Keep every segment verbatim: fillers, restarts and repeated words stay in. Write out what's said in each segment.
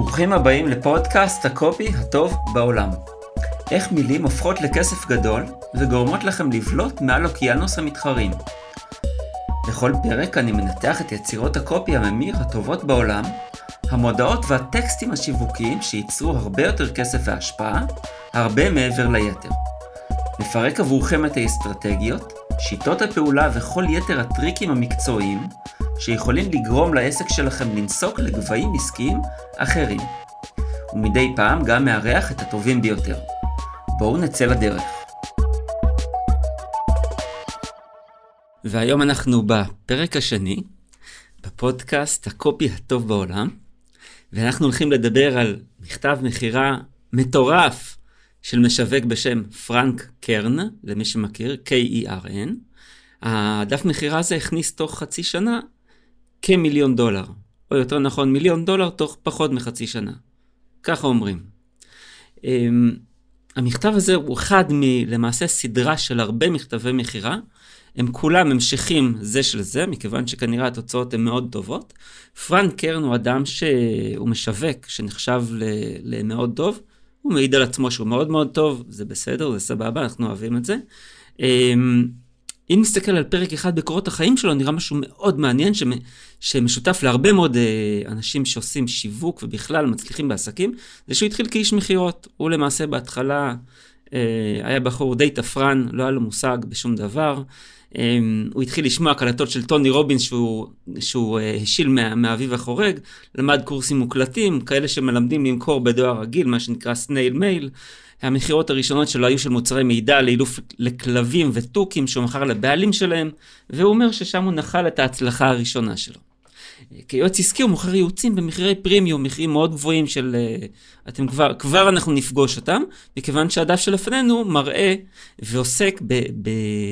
ברוכים הבאים לפודקאסט הקופי הטוב בעולם. איך מילים הופכות לכסף גדול וגורמות לכם לבלוט מעל אוקיינוס המתחרים. בכל פרק אני מנתח את יצירות הקופי הממיר הטובות בעולם, המודעות והטקסטים השיווקיים שייצרו הרבה יותר כסף והשפעה, הרבה מעבר ליתר. נפרק עבורכם את האסטרטגיות, שיטות הפעולה וכל יתר הטריקים המקצועיים שיכולים לגרום לעסק שלכם לנסוק לגבהים עסקיים אחרים. ומדי פעם גם מארח את הטובים ביותר. בואו נצא לדרך. והיום אנחנו בפרק השני, בפודקאסט הקופי הטוב בעולם, ואנחנו הולכים לדבר על מכתב מחירה מטורף של משווק בשם פרנק קרן, למי שמכיר, K-E-R-N. הדף מחירה הזה הכניס תוך חצי שנה כמיליון דולר, או יותר נכון מיליון דולר תוך פחות מחצי שנה. ככה אומרים. המכתב הזה הוא אחד מלמעשה סדרה של הרבה מכתבי מחירה, הם כולם המשכים זה של זה, מכיוון שכנראה התוצאות הן מאוד טובות. פרנק קרן הוא אדם שהוא משווק, שנחשב למאוד טוב, הוא מעיד על עצמו שהוא מאוד מאוד טוב, זה בסדר, זה סבבה, אנחנו אוהבים את זה. אם נסתכל על פרק אחד בקורות החיים שלו, נראה משהו מאוד מעניין, שמשותף להרבה מאוד אנשים שעושים שיווק ובכלל מצליחים בעסקים, זה שהוא התחיל כאיש מחירות. הוא למעשה בהתחלה היה בחור די תפרן, לא היה לו מושג בשום דבר. הוא התחיל לשמוע קלטות של טוני רובינס שהוא, שהוא השיל מה, מהאביב החורג, למד קורסים מוקלטים, כאלה שמלמדים למכור בדואר רגיל, מה שנקרא סנייל מייל. המחירות הראשונות שלו היו של מוצרי מידע לאילוף לכלבים וטוקים שהוא מכר לבעלים שלהם, והוא אומר ששם הוא נחל את ההצלחה הראשונה שלו. כיועץ עסקי הוא מוכר ייעוצים במחירי פרימיום, מחירים מאוד גבוהים של, אתם כבר, כבר אנחנו נפגוש אותם, מכיוון שהדף שלפנינו מראה ועוסק ב... ב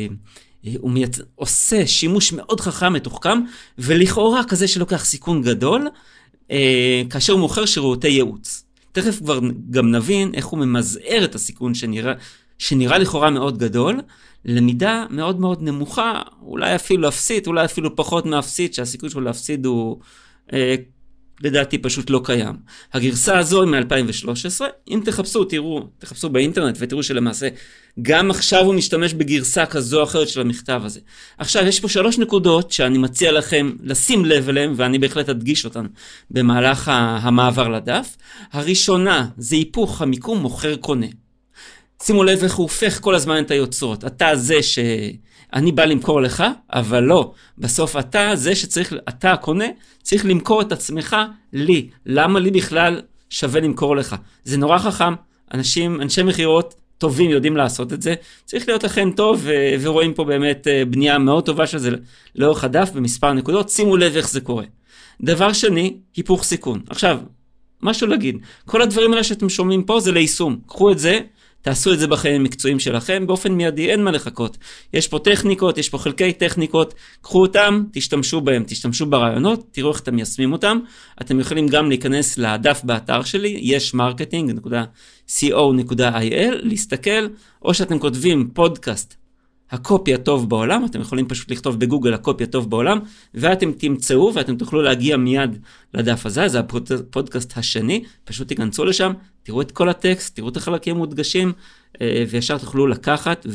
הוא מייצ... עושה שימוש מאוד חכם, מתוחכם, ולכאורה כזה שלוקח סיכון גדול, אה, כאשר הוא מוכר שירותי ייעוץ. תכף כבר גם נבין איך הוא ממזער את הסיכון שנראה, שנראה לכאורה מאוד גדול, למידה מאוד מאוד נמוכה, אולי אפילו אפסית, אולי אפילו פחות מאפסית, שהסיכון שלו להפסיד הוא אה, לדעתי פשוט לא קיים. הגרסה הזו היא מ-אלפיים ושלוש עשרה, אם תחפשו, תראו, תחפשו באינטרנט ותראו שלמעשה גם עכשיו הוא משתמש בגרסה כזו או אחרת של המכתב הזה. עכשיו, יש פה שלוש נקודות שאני מציע לכם לשים לב אליהם, ואני בהחלט אדגיש אותן במהלך המעבר לדף. הראשונה, זה היפוך המיקום מוכר קונה. שימו לב איך הוא הופך כל הזמן את היוצרות. אתה זה שאני בא למכור לך, אבל לא. בסוף אתה זה שצריך, אתה הקונה, צריך למכור את עצמך לי. למה לי בכלל שווה למכור לך? זה נורא חכם. אנשים, אנשי מחירות טובים יודעים לעשות את זה. צריך להיות לכם טוב, ו- ורואים פה באמת בנייה מאוד טובה של זה לאורך הדף במספר נקודות. שימו לב איך זה קורה. דבר שני, היפוך סיכון. עכשיו, משהו להגיד. כל הדברים האלה שאתם שומעים פה זה ליישום. קחו את זה, תעשו את זה בחיים המקצועיים שלכם, באופן מיידי אין מה לחכות. יש פה טכניקות, יש פה חלקי טכניקות, קחו אותם, תשתמשו בהם, תשתמשו ברעיונות, תראו איך אתם מיישמים אותם. אתם יכולים גם להיכנס לדף באתר שלי, יש מרקטינג נקודה סי או נקודה איי אל, להסתכל, או שאתם כותבים פודקאסט, הקופי הטוב בעולם, אתם יכולים פשוט לכתוב בגוגל הקופי הטוב בעולם, ואתם תמצאו ואתם תוכלו להגיע מיד לדף הזה, זה הפודקאסט השני, פשוט תיכנסו לשם, תראו את כל הטקסט, תראו את החלקים מודגשים, וישר תוכלו לקחת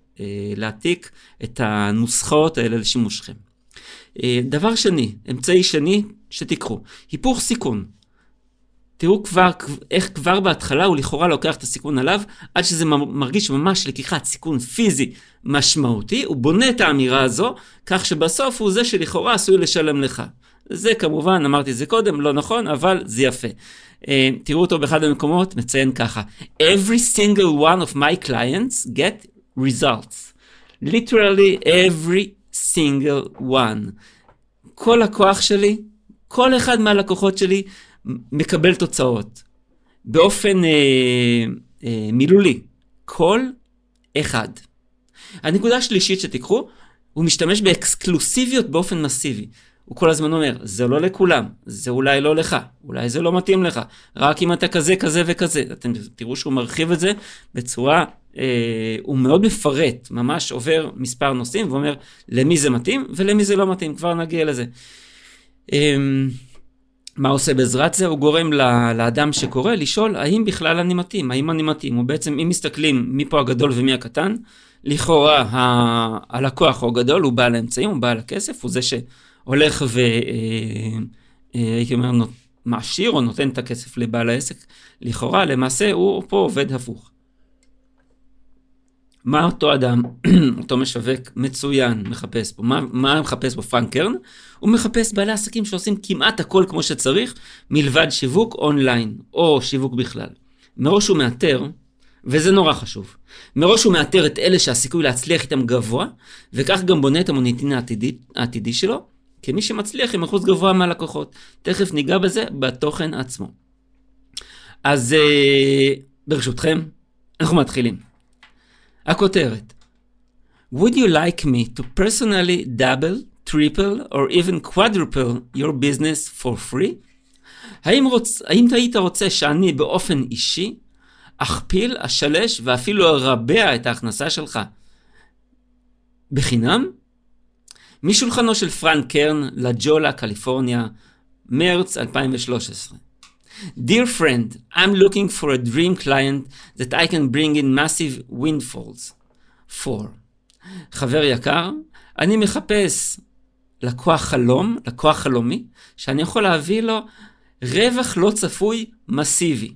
ולהעתיק את הנוסחאות האלה לשימושכם. דבר שני, אמצעי שני שתיקחו, היפוך סיכון. תראו כבר, איך כבר בהתחלה הוא לכאורה לוקח את הסיכון עליו, עד שזה מרגיש ממש לקיחת סיכון פיזי משמעותי, הוא בונה את האמירה הזו, כך שבסוף הוא זה שלכאורה עשוי לשלם לך. זה כמובן, אמרתי זה קודם, לא נכון, אבל זה יפה. תראו אותו באחד המקומות, מציין ככה, Every single one of my clients get results. Literally every single one. כל הכוח שלי, כל אחד מהלקוחות שלי, מקבל תוצאות. באופן אה, אה, מילולי. כל אחד. הנקודה השלישית שתיקחו, הוא משתמש באקסקלוסיביות באופן מסיבי. הוא כל הזמן אומר, זה לא לכולם, זה אולי לא לך, אולי זה לא מתאים לך, רק אם אתה כזה, כזה וכזה. אתם תראו שהוא מרחיב את זה בצורה, אה, הוא מאוד מפרט, ממש עובר מספר נושאים, ואומר למי זה מתאים ולמי זה לא מתאים, כבר נגיע לזה. אה, מה עושה בעזרת זה? הוא גורם לאדם שקורא לשאול האם בכלל אני מתאים, האם אני מתאים. הוא בעצם, אם מסתכלים מי פה הגדול ומי הקטן, לכאורה ה- הלקוח הוא גדול, הוא בעל האמצעים, הוא בעל הכסף, הוא זה שהולך ו... הייתי אומר, מעשיר או נותן את הכסף לבעל העסק. לכאורה, למעשה הוא פה עובד הפוך. מה אותו אדם, אותו משווק מצוין, מחפש פה? מה, מה מחפש פה פרנק קרן? הוא מחפש בעלי עסקים שעושים כמעט הכל כמו שצריך, מלבד שיווק אונליין, או שיווק בכלל. מראש הוא מאתר, וזה נורא חשוב, מראש הוא מאתר את אלה שהסיכוי להצליח איתם גבוה, וכך גם בונה את המוניטין העתידי, העתידי שלו, כמי שמצליח עם אחוז גבוה מהלקוחות. תכף ניגע בזה בתוכן עצמו. אז ברשותכם, אנחנו מתחילים. הכותרת. Would you like me to personally double, triple, or even quadruple your business for free? האם, רוצ... האם היית רוצה שאני באופן אישי אכפיל, אשלש ואפילו ארבע את ההכנסה שלך בחינם? משולחנו של פרנק קרן, לג'ולה, קליפורניה, מרץ אלפיים ושלוש עשרה. Dear friend, I'm looking for a dream client that I can bring in massive windfalls for. חבר יקר, אני מחפש לקוח חלום, לקוח חלומי, שאני יכול להביא לו רווח לא צפוי מסיבי.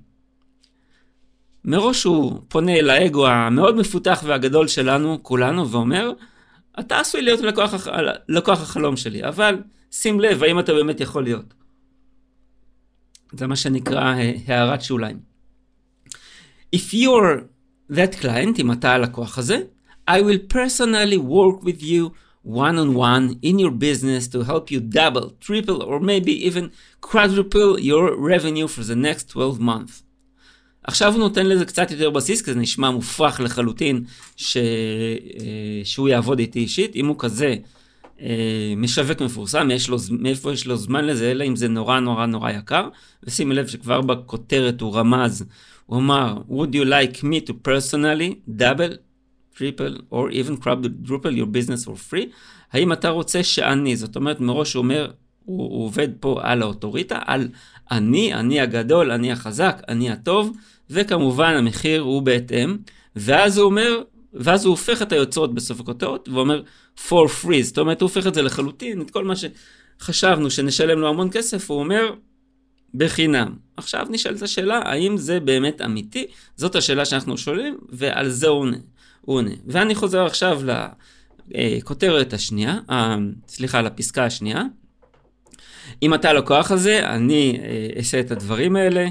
מראש הוא פונה אל האגו המאוד מפותח והגדול שלנו, כולנו, ואומר, אתה עשוי להיות לקוח, לקוח החלום שלי, אבל שים לב, האם אתה באמת יכול להיות? זה מה שנקרא הערת שוליים. If you're that client, אם אתה הלקוח הזה, I will personally work with you one on one in your business to help you double, triple, or maybe even quadruple your revenue for the next twelve months. עכשיו הוא נותן לזה קצת יותר בסיס, כי זה נשמע מופרך לחלוטין ש... שהוא יעבוד איתי אישית. אם הוא כזה משווק מפורסם, יש לו, מאיפה יש לו זמן לזה, אלא אם זה נורא נורא נורא יקר. ושימי לב שכבר בכותרת הוא רמז, הוא אמר, would you like me to personally double, triple, or even quadruple your business for free? האם אתה רוצה שאני, זאת אומרת מראש הוא אומר, הוא, הוא עובד פה על האוטוריטה, על אני, אני הגדול, אני החזק, אני הטוב, וכמובן המחיר הוא בהתאם, ואז הוא אומר, ואז הוא הופך את היוצרות בסוף הכותרות, ואומר for free, זאת אומרת הוא הופך את זה לחלוטין, את כל מה שחשבנו שנשלם לו המון כסף, הוא אומר בחינם. עכשיו נשאלת השאלה, האם זה באמת אמיתי? זאת השאלה שאנחנו שואלים, ועל זה הוא עונה. הוא עונה. ואני חוזר עכשיו לכותרת השנייה, סליחה, לפסקה השנייה. אם אתה לקוח הזה, אני אעשה את הדברים האלה.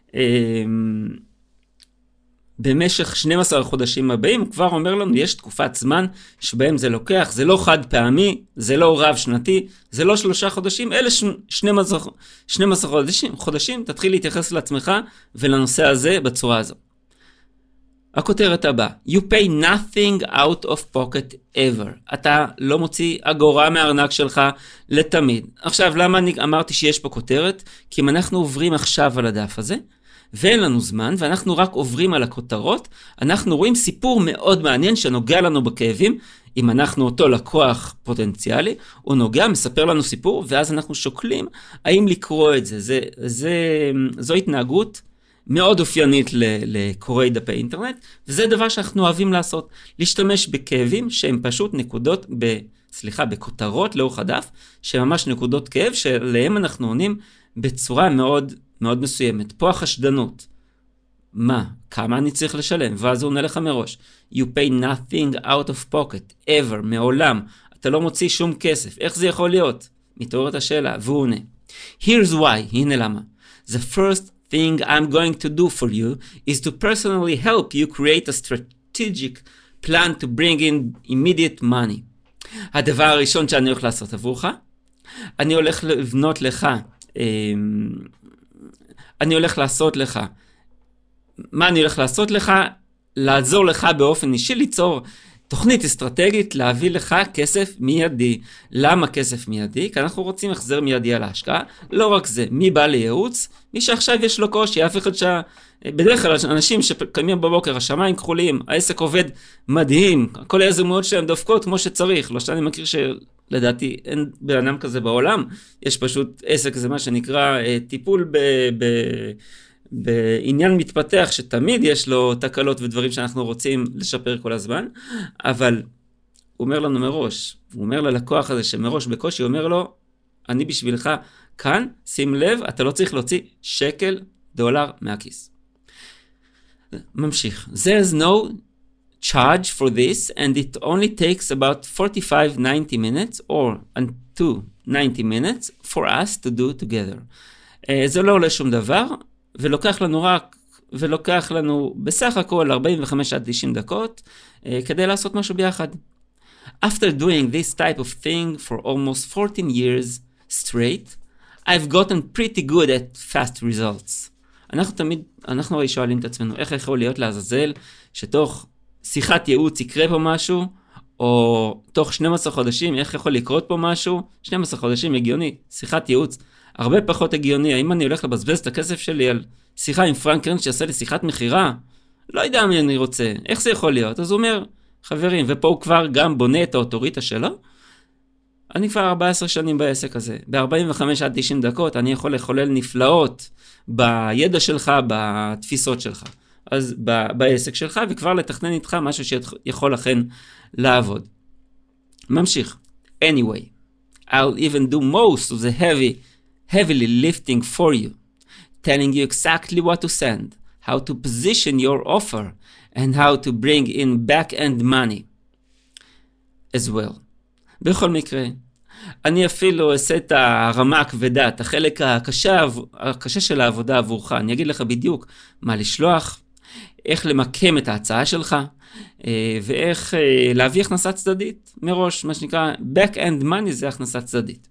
במשך שנים עשר חודשים הבאים, הוא כבר אומר לנו, יש תקופת זמן שבהם זה לוקח, זה לא חד פעמי, זה לא רב שנתי, זה לא שלושה חודשים, אלה שנים עשר חודשים, חודשים, תתחיל להתייחס לעצמך ולנושא הזה בצורה הזו. הכותרת הבאה, you pay nothing out of pocket ever. אתה לא מוציא אגורה מהארנק שלך לתמיד. עכשיו, למה אני אמרתי שיש פה כותרת? כי אם אנחנו עוברים עכשיו על הדף הזה, ואין לנו זמן, ואנחנו רק עוברים על הכותרות, אנחנו רואים סיפור מאוד מעניין שנוגע לנו בכאבים. אם אנחנו אותו לקוח פוטנציאלי, הוא נוגע, מספר לנו סיפור, ואז אנחנו שוקלים האם לקרוא את זה. זה, זה, זו התנהגות מאוד אופיינית לקוראי דפי אינטרנט, וזה דבר שאנחנו אוהבים לעשות, להשתמש בכאבים שהם פשוט נקודות, ב, סליחה, בכותרות לאורך הדף, שממש נקודות כאב, שלהם אנחנו עונים בצורה מאוד מאוד מסוימת. פה החשדנות. מה? כמה אני צריך לשלם? ואז הוא עונה לך מראש. You pay nothing out of pocket, ever, מעולם. אתה לא מוציא שום כסף. איך זה יכול להיות? מתעוררת השאלה, והוא עונה. Here's why, הנה למה. The first thing I'm going to do for you is to personally help you create a strategic plan to bring in immediate money. הדבר הראשון שאני הולך לעשות עבורך, אני הולך לבנות לך, אני הולך לעשות לך, מה אני הולך לעשות לך? לעזור לך באופן אישי, ליצור תוכנית אסטרטגית, להביא לך כסף מיידי. למה כסף מיידי? כי אנחנו רוצים החזר מיידי על ההשקעה. לא רק זה, מי בא לייעוץ? מי שעכשיו יש לו קושי, אף אחד ש... בדרך כלל אנשים שקיימים בבוקר, השמיים כחולים, העסק עובד מדהים, כל היזמויות שלהם דופקות כמו שצריך. לא שאני מכיר לדעתי אין בן אדם כזה בעולם, יש פשוט עסק, זה מה שנקרא טיפול ב... ב... בעניין מתפתח שתמיד יש לו תקלות ודברים שאנחנו רוצים לשפר כל הזמן, אבל הוא אומר לנו מראש, הוא אומר ללקוח הזה שמראש בקושי, הוא אומר לו, אני בשבילך כאן, שים לב, אתה לא צריך להוציא שקל דולר מהכיס. ממשיך. There's no charge for this and it only takes about forty-five to ninety minutes or to ninety minutes for us to do together. Uh, זה לא עולה שום דבר, ולוקח לנו רק, ולוקח לנו בסך הכל ארבעים וחמש עד תשעים דקות, uh, כדי לעשות משהו ביחד. After doing this type of thing for almost fourteen years straight, I've gotten pretty good at fast results. אנחנו תמיד, אנחנו הרי שואלים את עצמנו, איך יכול להיות לעזאזל שתוך שיחת ייעוץ יקרה פה משהו, או תוך שנים עשר חודשים, איך יכול לקרות פה משהו? שנים עשר חודשים הגיוני, שיחת ייעוץ, הרבה פחות הגיוני. האם אני הולך לבזבז את הכסף שלי על שיחה עם פרנק קרן שיעשה לי שיחת מחירה? לא יודע מי אני רוצה, איך זה יכול להיות? אז הוא אומר, חברים, ופה הוא כבר גם בונה את האוטוריטה שלו, אני כבר ארבע עשרה שנים בעסק הזה, ב-ארבעים וחמש עד תשעים דקות אני יכול לחולל נפלאות בידע שלך, בתפיסות שלך, אז ב- בעסק שלך, וכבר לתכנן איתך משהו שיכול לכן לעבוד. ממשיך. Anyway, I'll even do most of the heavy, heavily lifting for you, telling you exactly what to send, how to position your offer, and how to bring in back-end money as well. בכל מקרה, אני אפילו אעשה את הרמה הכבדה, את החלק הקשה, הקשה של העבודה עבורך. אני אגיד לך בדיוק מה לשלוח, איך למקם את ההצעה שלך, ואיך להביא הכנסה צדדית מראש, מה שנקרא back-end money זה הכנסה צדדית.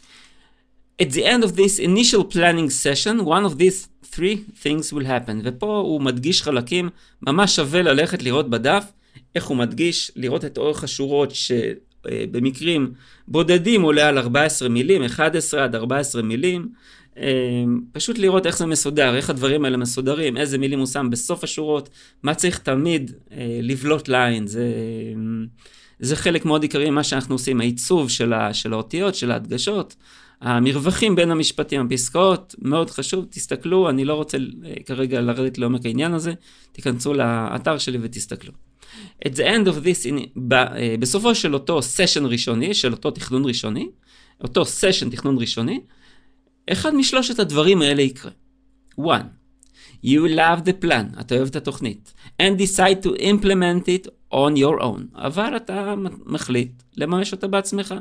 At the end of this initial planning session, one of these three things will happen. ופה הוא מדגיש חלקים, ממש שווה ללכת לראות בדף, איך הוא מדגיש, לראות את אורך השורות שבמקרים בודדים עולה על ארבע עשרה מילים, אחת עשרה עד ארבע עשרה מילים, פשוט לראות איך זה מסודר, איך הדברים האלה מסודרים, איזה מילים הוא שם בסוף השורות, מה צריך תמיד לבלוט ליין, זה, זה חלק מאוד עיקרי מה שאנחנו עושים, העיצוב של, ה, של האותיות, של ההדגשות, המרווחים בין המשפטים, הפסקאות, מאוד חשוב, תסתכלו, אני לא רוצה כרגע לרדת לעומק העניין הזה, תיכנסו לאתר שלי ותסתכלו. At the end of this, in, ב, בסופו של אותו סשן ראשוני, של אותו תכנון ראשוני, אותו סשן תכנון ראשוני, אחד משלושת הדברים האלה יקרה. one. You love the plan, אתה אוהב את התוכנית, and decide to implement it on your own, אבל אתה מחליט לממש אותה בעצמך.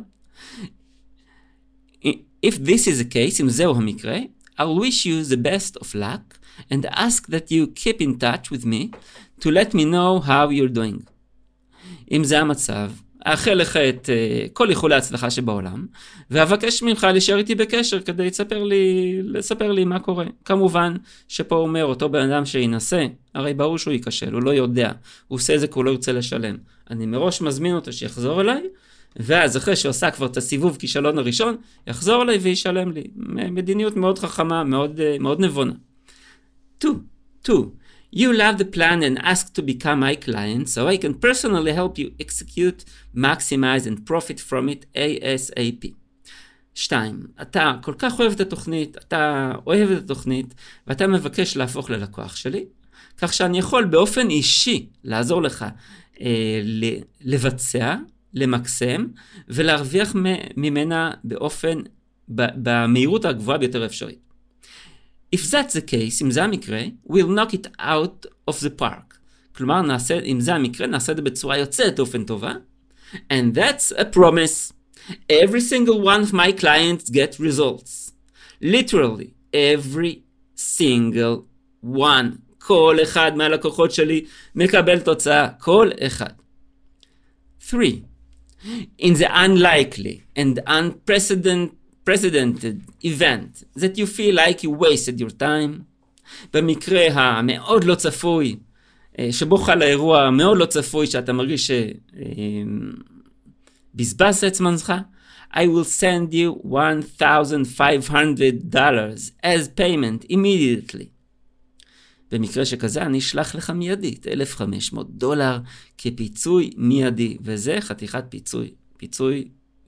If this is the case, אם זהו המקרה, I'll wish you the best of luck and ask that you keep in touch with me to let me know how you're doing. אם זה המצב, אאחל לך את uh, כל איחולי ההצלחה שבעולם, ואבקש ממך להישאר איתי בקשר כדי לספר לי, לספר לי מה קורה. כמובן שפה הוא אומר, אותו בן אדם שינסה, הרי ברור שהוא ייכשל, הוא לא יודע, הוא עושה את זה כי הוא לא ירצה לשלם. אני מראש מזמין אותו שיחזור אליי, ואז אחרי שעושה כבר את הסיבוב כישלון הראשון, יחזור אליי וישלם לי. מדיניות מאוד חכמה, מאוד, מאוד נבונה. two. two. You love the plan and ask to become my client so I can personally help you execute, maximize and profit from it ASAP. שתיים. אתה כל כך אוהב את התוכנית, אתה אוהב את התוכנית, ואתה מבקש להפוך ללקוח שלי, כך שאני יכול באופן אישי לעזור לך אה, לבצע, למקסם, ולהרוויח ממנה באופן, במהירות הגבוהה ביותר אפשרית. If that's the case, אם זה המקרה, we'll knock it out of the park. כלומר, נעשה, אם זה המקרה, נעשה את זה בצורה יוצאת אופן טובה. And that's a promise. Every single one of my clients get results. Literally, every single one. כל אחד מהלקוחות שלי מקבל תוצאה. כל אחד. three. In the unlikely and unprecedented precedented event that you feel like you wasted your time, במקרה המאוד לא צפוי, שבו חל האירוע מאוד לא צפוי, שאתה מרגיש שבזבזת את זמנך, I will send you one thousand five hundred dollars as payment immediately. במקרה שכזה אני אשלח לך מיידית אלף וחמש מאות דולר כפיצוי מיידי, וזה חתיכת פיצוי, פיצוי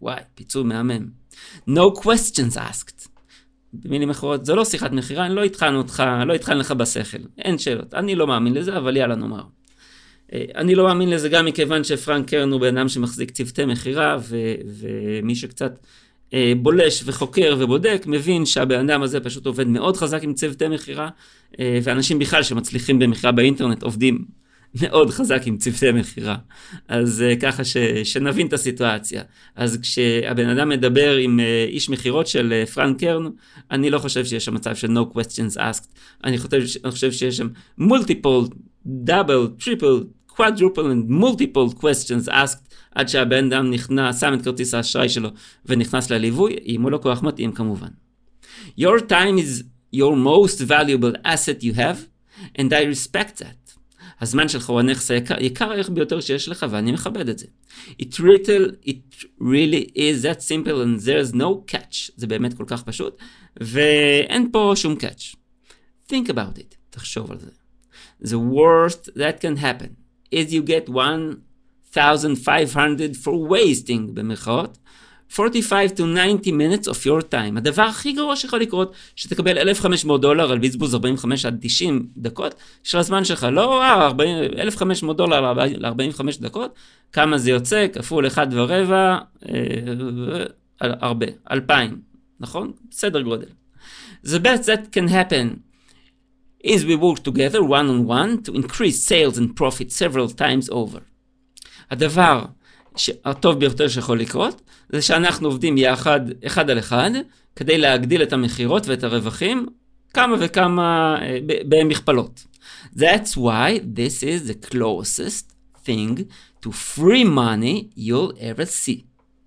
וואי, פיצוי מהמם. No questions asked. במילים אחרות, זה לא שיחת מחירה, אני לא התחלנו אותך, לא התחלנו לך בשכל. אין שאלות. אני לא מאמין לזה, אבל יאללה נאמר. אני לא מאמין לזה גם מכיוון שפרנק קרן הוא בן אדם שמחזיק צוותי מחירה, ו- ומי שקצת אה, בולש וחוקר ובודק, מבין שהבן אדם הזה פשוט עובד מאוד חזק עם צוותי מחירה, אה, ואנשים בכלל שמצליחים במחירה באינטרנט עובדים מאוד חזק עם צוותי מחירה. אז אה, ככה ש- שנבין את הסיטואציה. אז כשהבן אדם מדבר עם אה, איש מחירות של אה, פרנק קרן, אני לא חושב שיש שם מצב של no questions asked. אני חושב, אני חושב שיש שם multiple, double, triple, quadruple and multiple questions asked, עד שהבן אדם נכנס, שם את כרטיס האשראי שלו ונכנס לליווי, אם הוא לא כוח מתאים כמובן. Your time is your most valuable asset you have, and I respect that. הזמן שלך הוא הנכס היקר, יקר הערך ביותר שיש לך, ואני מכבד את זה. It really, it really is that simple and there's no catch. זה באמת כל כך פשוט, ואין פה שום catch. Think about it. תחשוב על זה. The worst that can happen is you get one thousand five hundred for wasting, במרכאות, forty-five to ninety minutes of your time. הדבר הכי גרוע שיכול לקרות, שתקבל אלף וחמש מאות דולר על בזבוז ארבעים וחמש עד תשעים דקות של הזמן שלך. לא, אה, אלף וחמש מאות דולר ל-ארבעים וחמש דקות, כמה זה יוצא? כפול אחד ורבע, אה, הרבה, אלפיים, נכון? בסדר גודל. The best that can happen is we work together one on one to increase sales and profit several times over. הדבר הטוב ביותר שיכול לקרות, זה שאנחנו עובדים יחד, אחד על אחד, כדי להגדיל את המחירות ואת הרווחים, כמה וכמה במכפלות. That's why this is the closest thing to free money you'll ever see.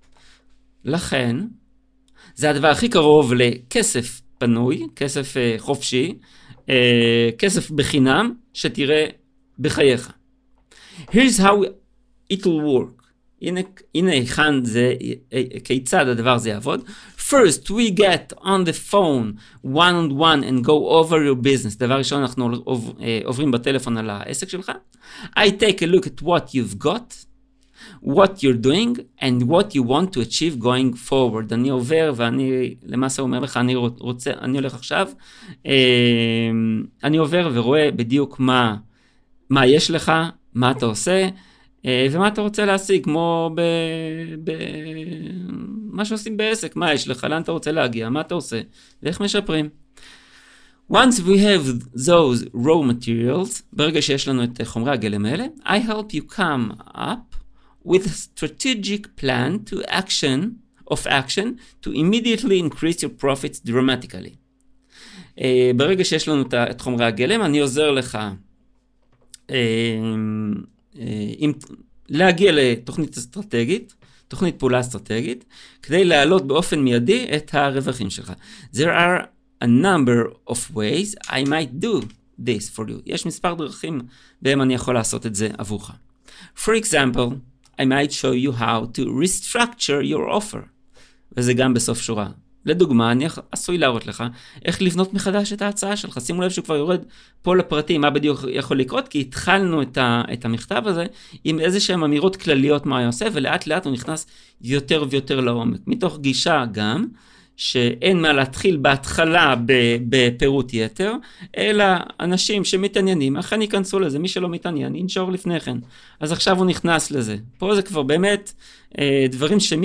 לכן, זה הדבר הכי קרוב לכסף פנוי, כסף חופשי, כסף בחינם, שתראה בחייך. Here's how it will work. הנה, הנה היכן זה, כיצד הדבר הזה יעבוד. First, we get on the phone one on one and go over your business. דבר ראשון, אנחנו עוברים בטלפון על העסק שלך. I take a look at what you've got, what you're doing, and what you want to achieve going forward. אני עובר ואני למעשה אומר לך, אני רוצה, אני הולך עכשיו, אני עובר ורואה בדיוק מה, מה יש לך, מה אתה עושה, ומה אתה רוצה להשיג, כמו ב... ב... מה שעושים בעסק, מה יש לך, לאן אתה רוצה להגיע, מה אתה עושה, ואיך משפרים. Once we have those raw materials, ברגע שיש לנו את חומרי הגלם האלה, I help you come up with a strategic plan to action, of action, to immediately increase your profits dramatically. Uh, ברגע שיש לנו את חומרי הגלם, אני עוזר לך uh, עם, להגיע לתוכנית אסטרטגית, תוכנית פעולה אסטרטגית, כדי להעלות באופן מיידי את הרווחים שלך. There are a number of ways I might do this for you. יש מספר דרכים בהם אני יכול לעשות את זה עבורך. For example, I might show you how to restructure your offer. וזה גם בסוף שורה. לדוגמה, אני עשוי להראות לך איך לבנות מחדש את ההצעה שלך. שימו לב שכבר יורד פה לפרטים מה בדיוק יכול לקרות, כי התחלנו את, ה, את המכתב הזה עם איזה שהן אמירות כלליות מה הוא עושה, ולאט לאט הוא נכנס יותר ויותר לעומק. מתוך גישה גם, שאין מה להתחיל בהתחלה בפירוט יתר, אלא אנשים שמתעניינים, אכן ייכנסו לזה, מי שלא מתעניין, ינשור לפני כן. אז עכשיו הוא נכנס לזה. פה זה כבר באמת דברים שמי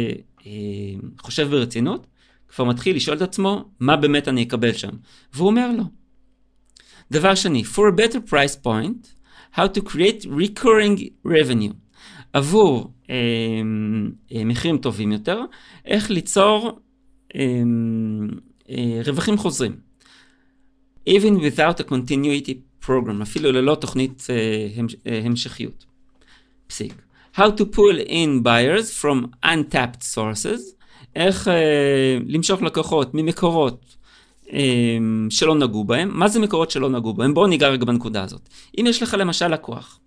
שחושב ברצינות, כבר מתחיל לשאול את עצמו, מה באמת אני אקבל שם. והוא אומר לו. דבר שני, for a better price point, how to create recurring revenue. עבור אה, אה, מחירים טובים יותר, איך ליצור אה, אה, רווחים חוזרים. Even without a continuity program, אפילו ללא תוכנית אה, המש, אה, המשכיות. פסיק. How to pull in buyers from untapped sources, איך אה, למשוך לקוחות ממקורות אה, שלא נגעו בהם. מה זה מקורות שלא נגעו בהם? בואו ניגע רגע בנקודה הזאת. אם יש לך למשל לקוח,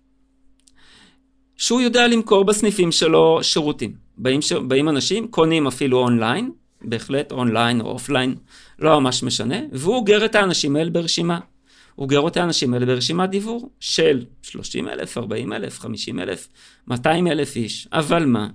שהוא יודע למכור בסניפים שלו שירותים, באים, ש... באים אנשים, קונים אפילו אונליין, בהחלט אונליין או אופליין, לא ממש משנה, והוא אוגר את האנשים האלה ברשימה. הוא אוגר את האנשים האלה ברשימת דיבור של שלושים אלף, ארבעים אלף, חמישים אלף, מאתיים אלף איש. אבל מה?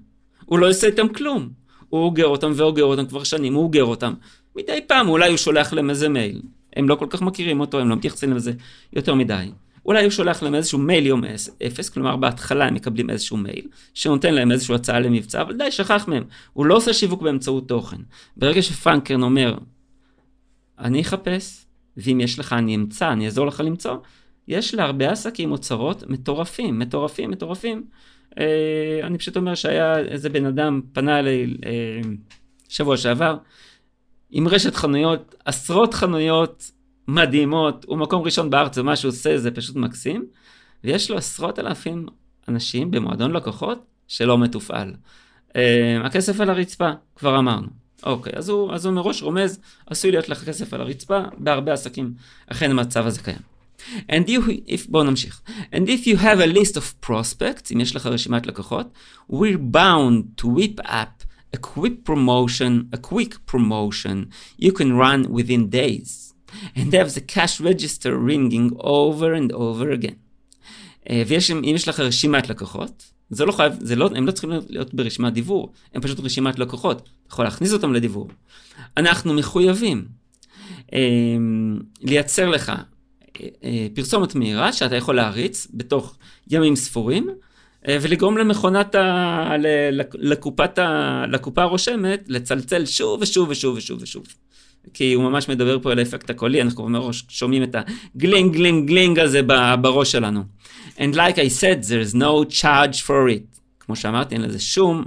הוא לא עושה איתם כלום. הוא אוגר אותם ואוגר אותם כבר שנים, הוא אוגר אותם. מדי פעם אולי הוא שולח להם איזה מייל. הם לא כל כך מכירים אותו, הם לא מתייחסים לזה יותר מדי. אולי הוא שולח להם איזשהו מייל יום אפס, כלומר בהתחלה הם מקבלים איזשהו מייל, שנותן להם איזשהו הצעה למבצע, אבל די שכח מהם. הוא לא עושה שיווק באמצעות תוכן. ברגע שפרנק קרן אומר, אני אחפש, ואם יש לך אני אמצא, אני אעזור לך למצוא, יש להרבה עסקים אוצרות מטורפים, מטורפים, מטורפים. אה, אני פשוט אומר שהיה איזה בן אדם פנה אליי אה, שבוע שעבר, עם רשת חנויות, עשרות חנויות מדהימות, הוא מקום ראשון בארץ, ומה שהוא עושה זה פשוט מקסים, ויש לו עשרות אלפים אנשים במועדון לקוחות שלא מתופעל. אה, הכסף על הרצפה, כבר אמרנו. אוקיי, אז הוא, אז הוא מראש רומז, עשוי להיות לך כסף על הרצפה, בהרבה עסקים, אכן המצב הזה קיים. And you, if, בואו נמשיך. And if you have a list of prospects, אם יש לך רשימת לקוחות, we're bound to whip up a quick promotion, a quick promotion you can run within days, and have the cash register ringing over and over again. Uh, ויש, אם יש לך רשימת לקוחות, זה לא חייב, זה לא, הם לא צריכים להיות ברשימת דיבור, הם פשוט רשימת לקוחות, אתה יכול להכניס אותם לדיבור. אנחנו מחויבים אה, לייצר לך אה, פרסומת מהירה, שאתה יכול להריץ בתוך ימים ספורים, אה, ולגרום למכונת, ה, לקופת ה, לקופה הרושמת, לצלצל שוב ושוב ושוב ושוב ושוב. כי הוא ממש מדבר פה על האפקט הקולי, אנחנו מראש שומעים את הגלינג גלינג גלינג הזה בראש שלנו. And like I said, there's no charge for it. כמו שאמרתי, אין לזה שום,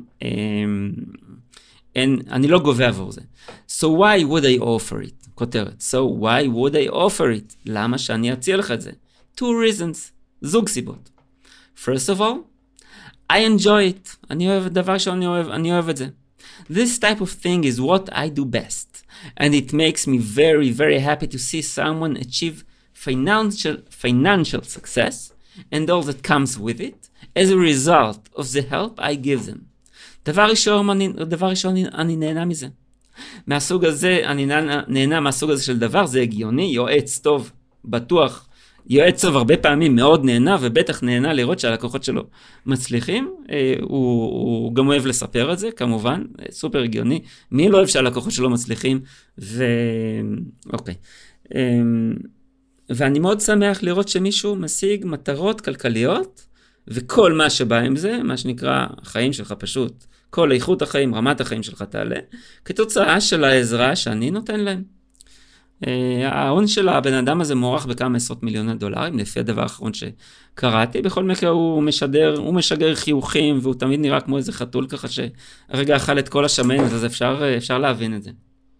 אין, אני לא גובה עבור זה. So why would I offer it? כותרת. So why would I offer it? למה שאני אציע לך את זה? Two reasons. זוג סיבות. First of all, I enjoy it. אני אוהב, דבר שאני אוהב, אני אוהב את זה. This type of thing is what I do best. And it makes me very, very happy to see someone achieve financial, financial success and all that comes with it as a result of the help I give them. דבר ראשון, אני, דבר ראשון, אני, אני נהנה מזה. מהסוג הזה, אני נהנה, נהנה מהסוג הזה של דבר, זה הגיוני, יועץ טוב, בטוח, יועץ טוב הרבה פעמים מאוד נהנה, ובטח נהנה לראות שהלקוחות שלו מצליחים. אה, הוא, הוא גם אוהב לספר את זה, כמובן, סופר הגיוני. מי לא אוהב שהלקוחות שלו מצליחים? ו... אוקיי. אה, ואני מאוד שמח לראות שמישהו משיג מטרות כלכליות, וכל מה שבא עם זה, מה שנקרא החיים שלך פשוט, כל איכות החיים, רמת החיים שלך תעלה, כתוצאה של העזרה שאני נותן להם. ההון של הבן אדם הזה מוערך בכמה עשרות מיליוני דולרים, לפי הדבר האחרון שקראתי. בכל מקרה הוא משדר, הוא משגר חיוכים, והוא תמיד נראה כמו איזה חתול ככה שהרגע אכל את כל השמנת, אז אפשר, אפשר להבין את זה.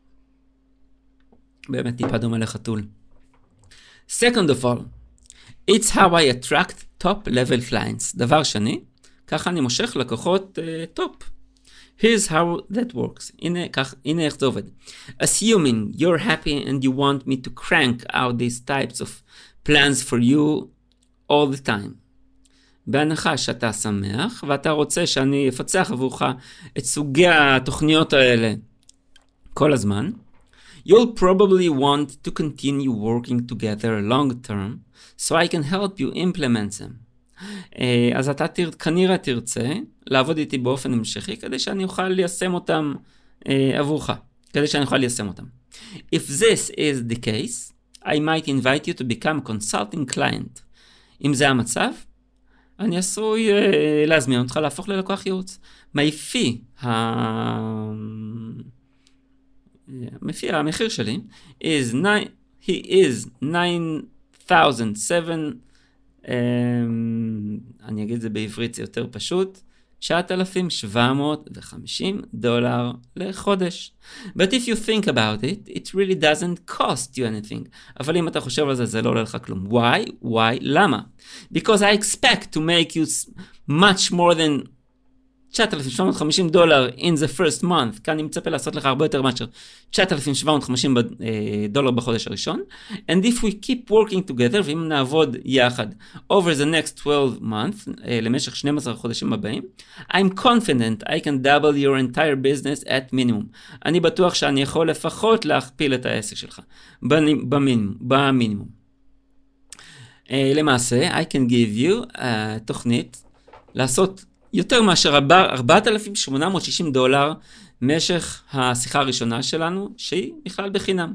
באמת טיפה דומה לחתול. Second of all, it's how I attract top level clients. דבר שני, ככה אני מושך לקוחות טופ. Uh, Here's how that works. הנה, כך, הנה איך זה עובד. Assuming you're happy and you want me to crank out these types of plans for you all the time. בהנחה שאתה שמח, ואתה רוצה שאני אפצח עבורך את סוגי התוכניות האלה כל הזמן, you'll probably want to continue working together long term, so I can help you implement them. אז אתה תר... כנראה תרצה לעבוד איתי באופן המשכי, כדי שאני אוכל ליישם אותם אה, עבורך, כדי שאני אוכל ליישם אותם. If this is the case, I might invite you to become a consulting client. אם זה המצב, אני עשוי אה, להזמין אותך להפוך ללקוח ייעוץ. מהפי, ה... המפי, המחיר שלי, is nine, he is nine thousand seven, um, אני אגיד את זה בעברית, זה יותר פשוט, תשעת אלפים שבע מאות וחמישים דולר לחודש. But if you think about it, it really doesn't cost you anything. אבל אם אתה חושב על זה, זה לא עולה לך כלום. Why? Why? למה? Because I expect to make you much more than תשעת אלפים שבע מאות וחמישים דולר in the first month. כאן אני מצפה לעשות לך הרבה יותר מאשר תשעת אלפים שבע מאות וחמישים דולר בחודש הראשון. And if we keep working together, ואם נעבוד יחד over the next twelve months, למשך שנים עשר חודשים הבאים, I'm confident I can double your entire business at minimum. אני בטוח שאני יכול לפחות להכפיל את העסק שלך. במינימום. במינימום. למעשה, I can give you uh, תוכנית לעשות יותר מאשר ארבעת אלפים שמונה מאות ושישים דולר משך השיחה הראשונה שלנו, שהיא בכלל בחינם.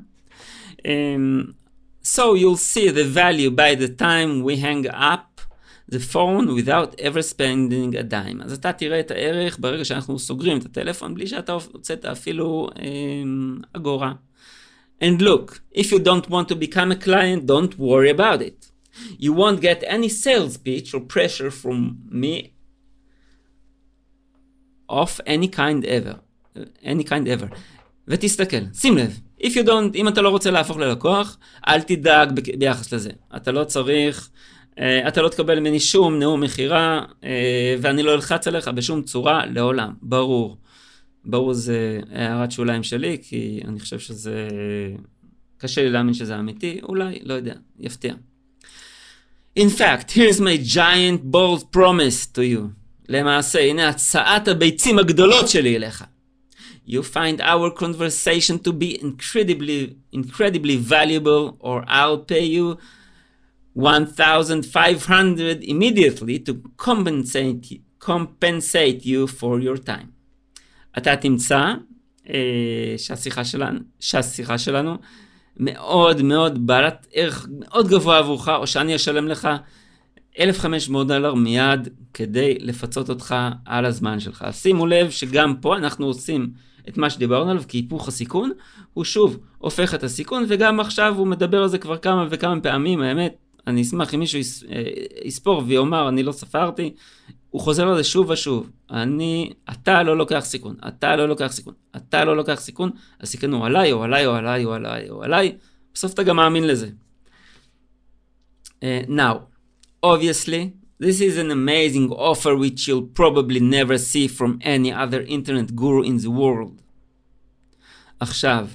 So you'll see the value by the time we hang up the phone without ever spending a dime. אז אתה תראה את הערך ברגע שאנחנו סוגרים את הטלפון, בלי שאתה הוצאת אפילו אגורה. And look, if you don't want to become a client, don't worry about it. You won't get any sales pitch or pressure from me of any kind ever. any kind ever. ותסתכל, שים לב, if you don't, אם אתה לא רוצה להפוך ללקוח, אל תדאג ב- ביחס לזה. אתה לא צריך, אתה לא תקבל ממני שום נאום מחירה, ואני לא אלחץ עליך בשום צורה לעולם. ברור. ברור זה הערת שוליים שלי, כי אני חושב שזה, קשה לי להאמין שזה אמיתי, אולי, לא יודע, יפתיע. In fact, here's my giant bold promise to you. למעשה, הנה הצעת הביצים הגדולות שלי אליך. You find our conversation to be incredibly, incredibly valuable, or I'll pay you one thousand five hundred immediately to compensate, compensate you for your time. אתה תמצא אה, שהשיחה שלנו, שהשיחה שלנו מאוד מאוד בעלת ערך מאוד גבוה עבורך, או שאני אשלם לך אלף וחמש מאות דולר מיד כדי לפצות אותך על הזמן שלך. שימו לב שגם פה אנחנו עושים את מה שדיברנו עליו, כי היפוך הסיכון הוא שוב הופך את הסיכון, וגם עכשיו הוא מדבר על זה כבר כמה וכמה פעמים. האמת, אני אשמח אם מישהו יס, יספור ויאמר, אני לא ספרתי, הוא חוזר על זה שוב ושוב. אני, אתה לא לוקח סיכון, אתה לא לוקח סיכון, אתה לא לוקח סיכון, הסיכון הוא עליי, או עליי, או עליי, או עליי, או עליי, בסוף אתה גם מאמין לזה. Uh, now, obviously, this is an amazing offer which you'll probably never see from any other internet guru in the world. עכשיו,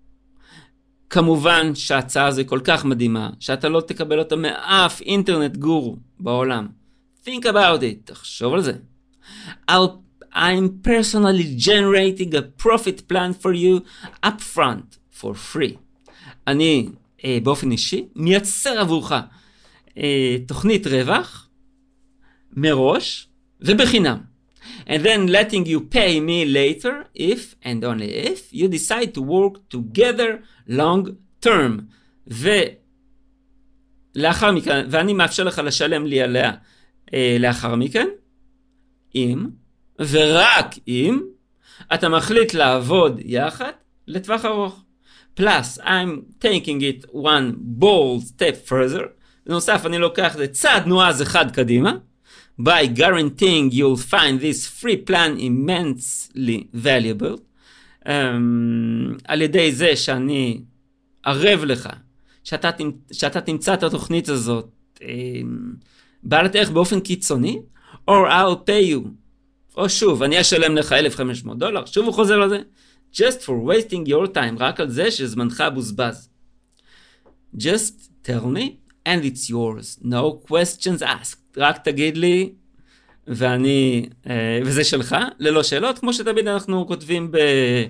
כמובן שההצעה הזו היא כל כך מדהימה, שאתה לא תקבל אותה מאף אינטרנט גורו בעולם. Think about it, תחשוב על זה. I'll, I'm personally generating a profit plan for you up front for free. אני, אה, באופן אישי, מייצר עבורך אה, תוכנית רווח, מראש ובחינם. And then letting you pay me later if and only if you decide to work together long term. ולאחר מכן, ואני מאפשר לך לשלם לי עליה אה, לאחר מכן, אם ורק אם אתה מחליט לעבוד יחד לטווח ארוך. Plus, I'm taking it one bold step further. בנוסף, אני לוקח את זה צעד נועז אחד קדימה. By guaranteeing you'll find this free plan immensely valuable. Um, על ידי זה שאני ערב לך, שאתה, שאתה תמצא את התוכנית הזאת um, בעלת ערך באופן קיצוני, or I'll pay you. או שוב, אני אשלם לך אלף וחמש מאות דולר, שוב הוא חוזר לזה. Just for wasting your time, רק על זה שזמנך בוזבז. Just tell me and it's yours. No questions asked. רק תגיד לי, ואני, וזה שלך, ללא שאלות, כמו שתמיד אנחנו כותבים ב...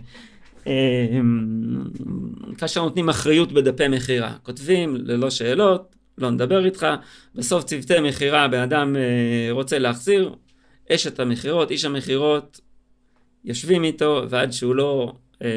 כאשר נותנים אחריות בדפי מחירה. כותבים ללא שאלות, לא נדבר איתך, בסוף צוותי מחירה, בן אדם רוצה להחזיר, אשת המחירות, איש המחירות, יושבים איתו, ועד שהוא לא,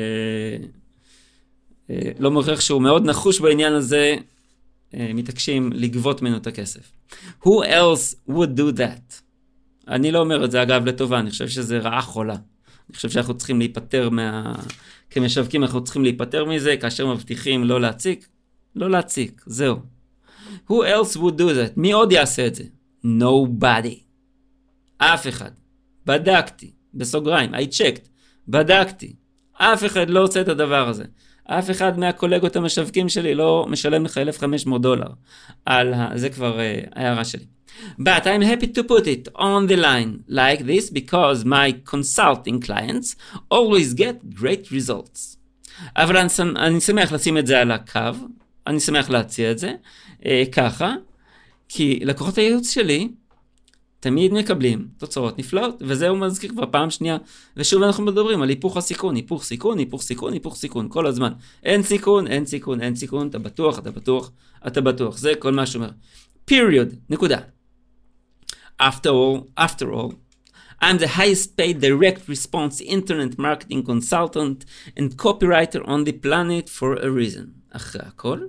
לא מוכיח שהוא מאוד נחוש בעניין הזה, מתעקשים לגבות ממנו את הכסף. Who else would do that? אני לא אומר את זה אגב לטובה, אני חושב שזה רעה חולה. אני חושב שאנחנו צריכים להיפטר מה... כמשווקים אנחנו צריכים להיפטר מזה, כאשר מבטיחים לא להציק, לא להציק, זהו. Who else would do that? מי עוד יעשה את זה? Nobody. אף אחד. בדקתי, בסוגריים, I checked, בדקתי. אף אחד לא עושה את הדבר הזה. אף אחד מהקולגות המשווקים שלי לא משלם לך אלף וחמש מאות דולר. על ה... זה כבר uh, הערה שלי. But I'm happy to put it on the line like this because my consulting clients always get great results. אבל אני, אני שמח לשים את זה על הקו, אני שמח להציע את זה uh, ככה, כי לקוחות הייעוץ שלי תמיד מקבלים תוצאות נפלאות, וזה הוא מזכיר כבר פעם שנייה, ושוב אנחנו מדברים על היפוך הסיכון, היפוך סיכון, היפוך סיכון, היפוך סיכון, כל הזמן. אין סיכון, אין סיכון, אין סיכון, אתה בטוח, אתה בטוח, אתה בטוח, זה כל מה שאומר. Period, נקודה. After all, after all, I'm the highest paid direct response internet marketing consultant and copywriter on the planet for a reason. אחרי הכל,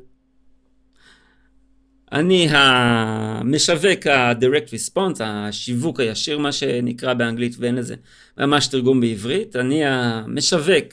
אני המשווק ה-direct response, השיווק הישיר, מה שנקרא באנגלית, ואין לזה ממש תרגום בעברית. אני המשווק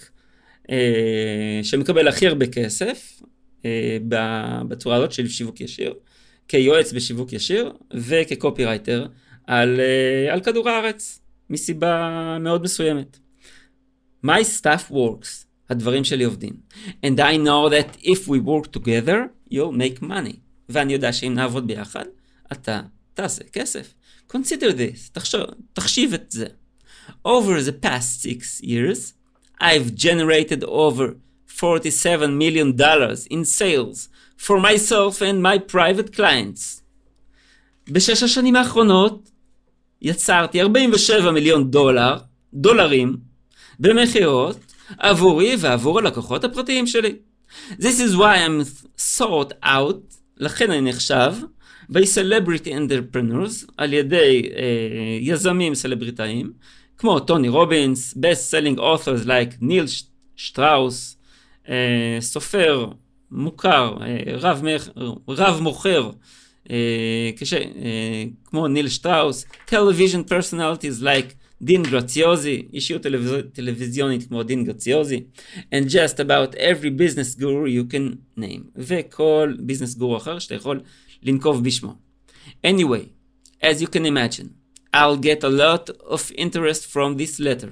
אה, שמקבל הכי הרבה כסף אה, בצורה הזאת של שיווק ישיר, כיועץ בשיווק ישיר וכקופירייטר על, אה, על כדור הארץ, מסיבה מאוד מסוימת. My stuff works, הדברים שלי עובדים. And I know that if we work together, you'll make money. ואני יודע שאם נעבוד ביחד, אתה תעשה כסף. Consider this, תחשוב, תחשיב את זה. Over the past six years, I've generated over forty-seven million dollars in sales for myself and my private clients. בשש השנים האחרונות, יצרתי ארבעים ושבעה מיליון דולר, דולרים, במחירות, עבורי ועבור הלקוחות הפרטיים שלי. This is why I'm sought out, לכן אני נחשב, by celebrity entrepreneurs, על ידי אה, יזמים סלבריטאים, כמו טוני רובינס, best-selling authors like ניל שטראוס, אה, סופר מוכר, אה, רב, רב מוכר, אה, כש, אה, כמו ניל שטראוס, television personalities like דין גרציוזי, אישיות טלוויז... טלוויזיונית כמו דין גרציוזי, and just about every business guru you can name, וכל ביזנס גורו אחר שאתה יכול לנקוב בשמו. Anyway, as you can imagine, I'll get a lot of interest from this letter.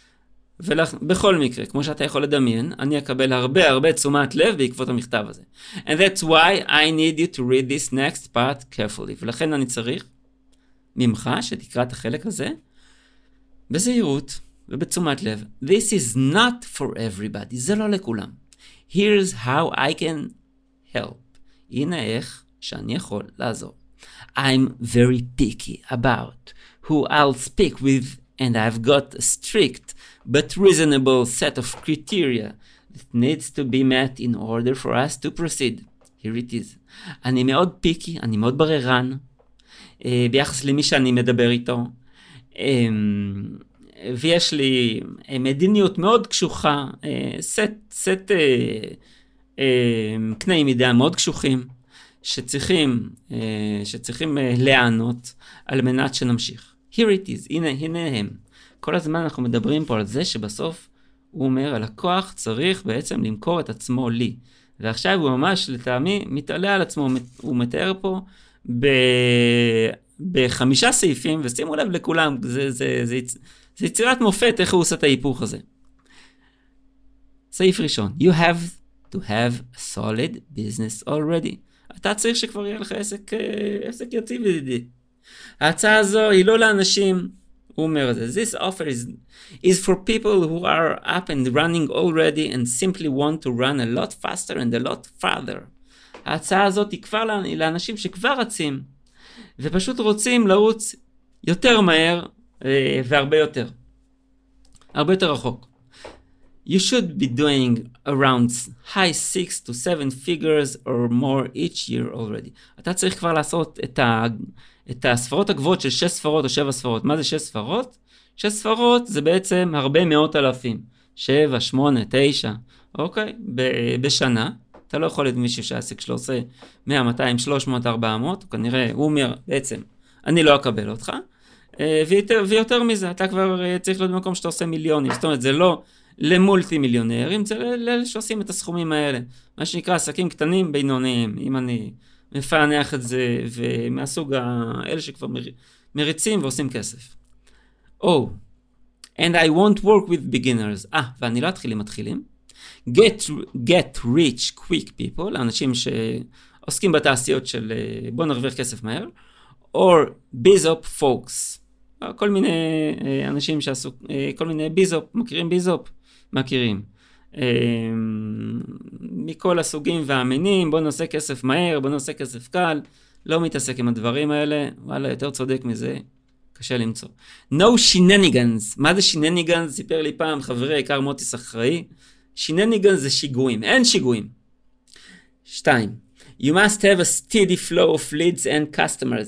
ובכל מקרה, כמו שאתה יכול לדמיין, אני אקבל הרבה הרבה תשומת לב בעקבות המכתב הזה. And that's why I need you to read this next part carefully. ולכן אני צריך ממך שתקרא את החלק הזה בזהירות ובתשומת לב. This is not for everybody. זה לא לכולם. Here's how I can help. הנה איך שאני יכול לעזור. I'm very picky about who I'll speak with, and I've got a strict but reasonable set of criteria that needs to be met in order for us to proceed. Here it is. אני מאוד פיקי, אני מאוד בררן, ביחס למי שאני מדבר איתו. ויש לי מדיניות מאוד קשוחה, סט, סט קני מידה מאוד קשוחים, שצריכים, שצריכים להיענות על מנת שנמשיך. Here it is, הנה, הנה הם. כל הזמן אנחנו מדברים פה על זה שבסוף הוא אומר, הלקוח צריך בעצם למכור את עצמו לי. ועכשיו הוא ממש לטעמי מתעלה על עצמו, הוא מתאר פה ב... בחמישה סעיפים, ושימו לב לכולם, זה, זה, זה, זה יצירת מופת איך הוא עושה את ההיפוך הזה. סעיף ראשון, you have to have a solid business already. אתה צריך שכבר יהיה לך עסק, עסק יציב ידידי. ההצעה הזו היא לא לאנשים, הוא אומר את זה, this offer is, is for people who are up and running already and simply want to run a lot faster and a lot farther. ההצעה הזאת היא כבר לאנשים שכבר רצים, ופשוט רוצים לרוץ יותר מהר והרבה יותר. הרבה יותר רחוק. You should be doing around high six to seven figures or more each year already. אתה צריך כבר לעשות את, ה, את הספרות הגבוהות של שש ספרות או שבע ספרות. מה זה שש ספרות? שש ספרות זה בעצם הרבה מאות אלפים. שבע, שמונה, תשע, אוקיי? ב- בשנה. אתה לא יכול להיות מישהו שהעסק שלו עושה מאה, מאתיים, שלוש מאות, ארבע מאות, כנראה הוא אומר בעצם, אני לא אקבל אותך, ויותר, ויותר מזה, אתה כבר צריך להיות במקום שאתה עושה מיליונים, זאת אומרת, זה לא למולטי מיליונרים, זה לאלה שעושים את הסכומים האלה, מה שנקרא עסקים קטנים בינוניים, אם אני מפענח את זה, ומהסוג האלה שכבר מריצים ועושים כסף. Oh, and I won't work with beginners, אה, ואני לא אתחיל עם מתחילים, get, get rich quick people, אנשים שעוסקים בתעשיות של בוא נרוויח כסף מהר, or ביזופ folks, כל מיני אנשים שעשו, כל מיני ביזופ, מכירים ביזופ? מכירים. מכל הסוגים והמינים, בוא נעשה כסף מהר, בוא נעשה כסף קל, לא מתעסק עם הדברים האלה, וואלה, יותר צודק מזה, קשה למצוא. No shenanigans, מה זה shenanigans? סיפר לי פעם חברי עיקר מוטיס אחראי, shenanigans זה שיגועים, אין שיגועים. שתיים, you must have a steady flow of leads and customers.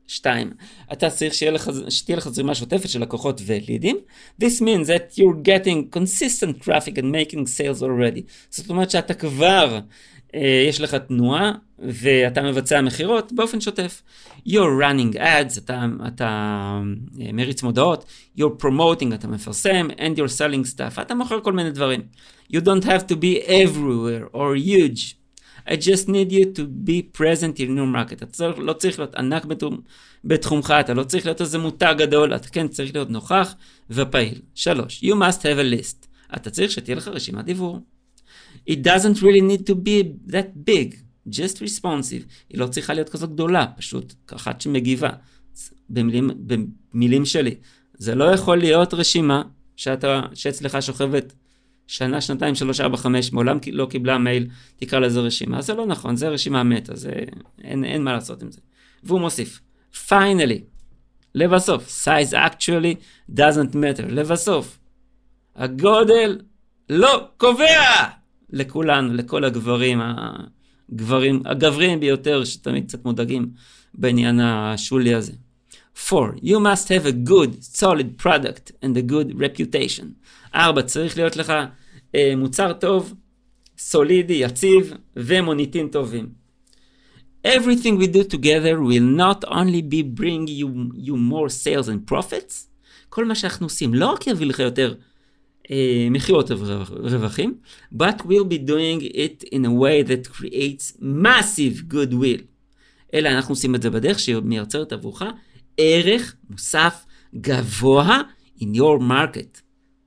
שתיים, אתה צריך שתהיה לך, שתהיה לך זרימה שוטפת של לקוחות ולידים. This means that you're getting consistent traffic and making sales already. זאת אומרת שאתה כבר, אה, יש לך תנועה, ואתה מבצע מחירות באופן שוטף. You're running ads, אתה, אתה אה, מריץ מודעות, you're promoting, אתה מפרסם, and you're selling stuff, אתה מוכר כל מיני דברים. You don't have to be everywhere or huge. I just need you to be present in your market. אתה לא צריך להיות ענק בתחומך, אתה לא צריך להיות איזה מותג גדול, אתה כן צריך להיות נוכח ופעיל. שלוש, you must have a list. אתה צריך שתהיה לך רשימת דיבור. It doesn't really need to be that big, just responsive. היא לא צריכה להיות כזאת גדולה, פשוט אחת שמגיבה. במילים, במילים שלי. זה לא יכול להיות רשימה שאתה, שאצלך שוכבת שנה, שנתיים, שלוש, ארבע, חמש, מעולם לא קיבלה מייל, תקרא לזה רשימה. זה לא נכון, זה רשימה מתה, זה, אין, אין מה לעשות עם זה. והוא מוסיף, finally, לבסוף, size actually doesn't matter, לבסוף, הגודל לא קובע לכולנו, לכל הגברים, הגברים, הגברים ביותר, שתמיד קצת מודאגים בעניין השולי הזה. four. You must have a good, solid product and a good reputation. ארבע, צריך להיות לך אה, מוצר טוב, סולידי, יציב ומוניטין טובים. Everything we do together will not only be bring you, you more sales and profits, כל מה שאנחנו עושים לא רק יביא לך יותר אה, מחירות ורווחים, but we'll be doing it in a way that creates massive goodwill. אלא אנחנו עושים את זה בדרך שמייצרת עבורך ערך מוסף גבוה in your market.